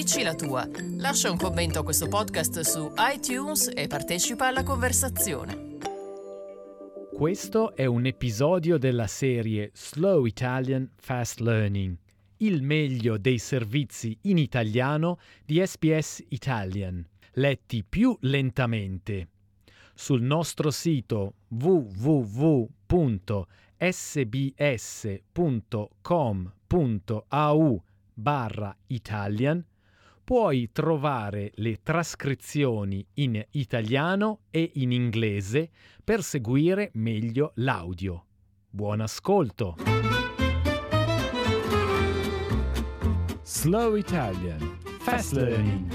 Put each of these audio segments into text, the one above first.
Dici la tua. Lascia un commento a questo podcast su iTunes e partecipa alla conversazione. Questo è un episodio della serie Slow Italian Fast Learning, il meglio dei servizi in italiano di SBS Italian, letti più lentamente. Sul nostro sito www.sbs.com.au/Italian puoi trovare le trascrizioni in italiano e in inglese per seguire meglio l'audio. Buon ascolto! Slow Italian Fast Learning.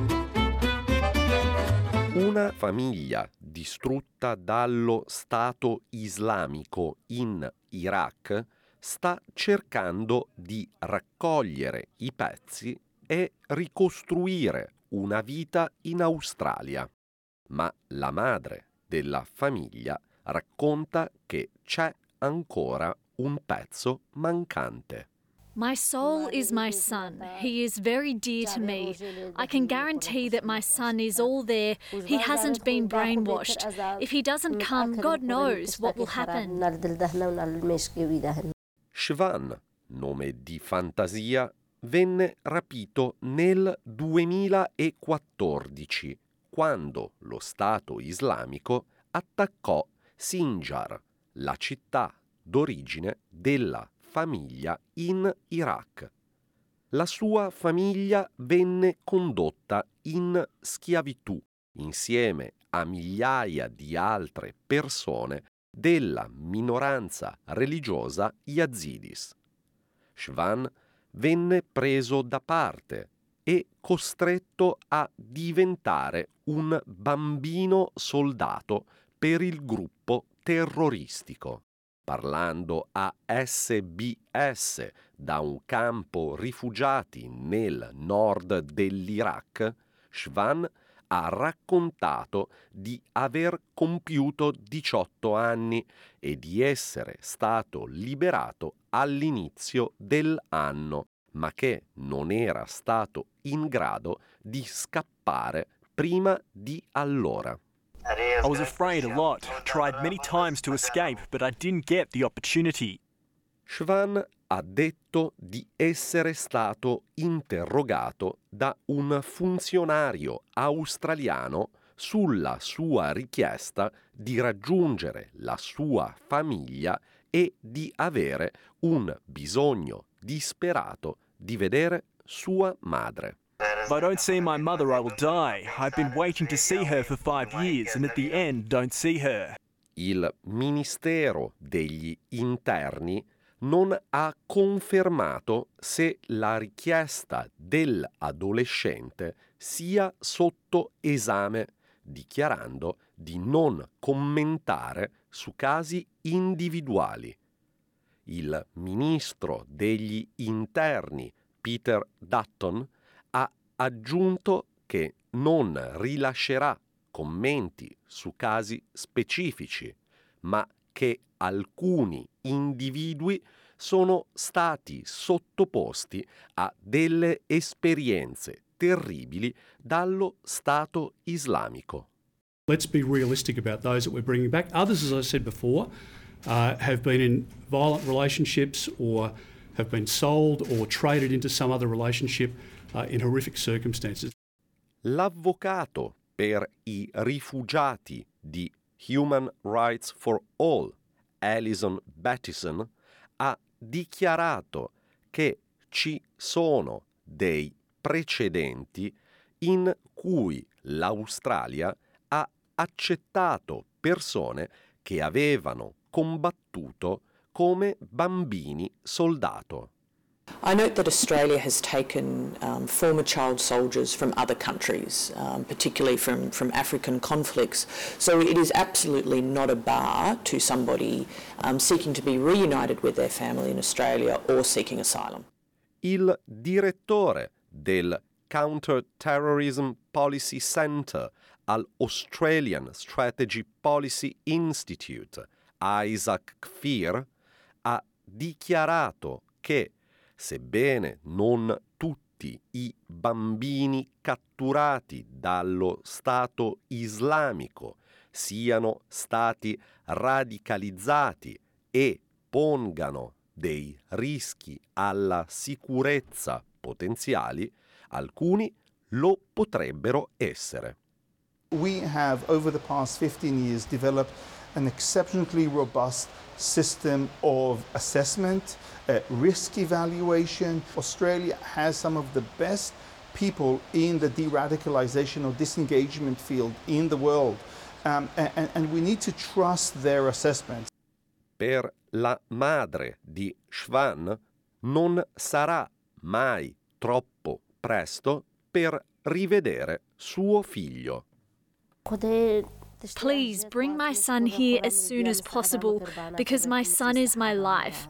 Una famiglia distrutta dallo Stato islamico in Iraq sta cercando di raccogliere i pezzi e ricostruire una vita in Australia. Ma la madre della famiglia racconta che c'è ancora un pezzo mancante. My soul is my son. He is very dear to me. I can guarantee that my son is all there. He hasn't been brainwashed. If he doesn't come, God knows what will happen. Shvan, nome di fantasia, venne rapito nel 2014, quando lo Stato islamico attaccò Sinjar, la città d'origine della famiglia in Iraq. La sua famiglia venne condotta in schiavitù insieme a migliaia di altre persone della minoranza religiosa Yazidis. Shvan venne preso da parte e costretto a diventare un bambino soldato per il gruppo terroristico. Parlando a SBS da un campo rifugiati nel nord dell'Iraq, Shvan ha raccontato di aver compiuto 18 anni e di essere stato liberato all'inizio dell'anno, ma che non era stato in grado di scappare prima di allora. I was afraid a lot, tried many times to escape, but I didn't get the opportunity. Shvan ha detto di essere stato interrogato da un funzionario australiano sulla sua richiesta di raggiungere la sua famiglia e di avere un bisogno disperato di vedere sua madre. If I don't see my mother, I will die. I've been waiting to see her for 5 years, and at the end, don't see her. Il Ministero degli Interni non ha confermato se la richiesta dell'adolescente sia sotto esame, dichiarando di non commentare su casi individuali. Il ministro degli Interni, Peter Dutton, ha aggiunto che non rilascerà commenti su casi specifici, ma che alcuni individui sono stati sottoposti a delle esperienze terribili dallo Stato islamico. Let's be realistic about those that we're bringing back. Others, as I said before, have been in violent relationships or have been sold or traded into some other relationship in horrific circumstances. L'avvocato per i rifugiati di Human Rights for All, Alison Battison, ha dichiarato che ci sono dei precedenti in cui l'Australia ha accettato persone che avevano combattuto come bambini soldato. I note that Australia has taken former child soldiers from other countries, particularly from African conflicts. So it is absolutely not a bar to somebody seeking to be reunited with their family in Australia or seeking asylum. Il direttore del Counter-Terrorism Policy Centre al Australian Strategy Policy Institute, Isaac Kfir, ha dichiarato che, sebbene non tutti tutti i bambini catturati dallo Stato islamico siano stati radicalizzati e pongano dei rischi alla sicurezza potenziali, alcuni lo potrebbero essere. We have, over the past 15 years, developed an exceptionally robust system of assessment, risk evaluation. Australia has some of the best people in the de-radicalization or disengagement field in the world, and we need to trust their assessments. Per la madre di Shvan non sarà mai troppo presto per rivedere suo figlio. Please bring my son here as soon as possible, because my son is my life.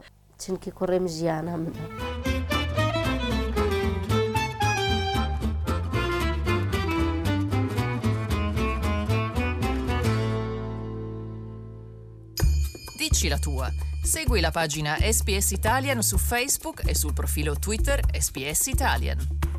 Dici la tua. Segui la pagina SPS Italian su Facebook e sul profilo Twitter SPS Italian.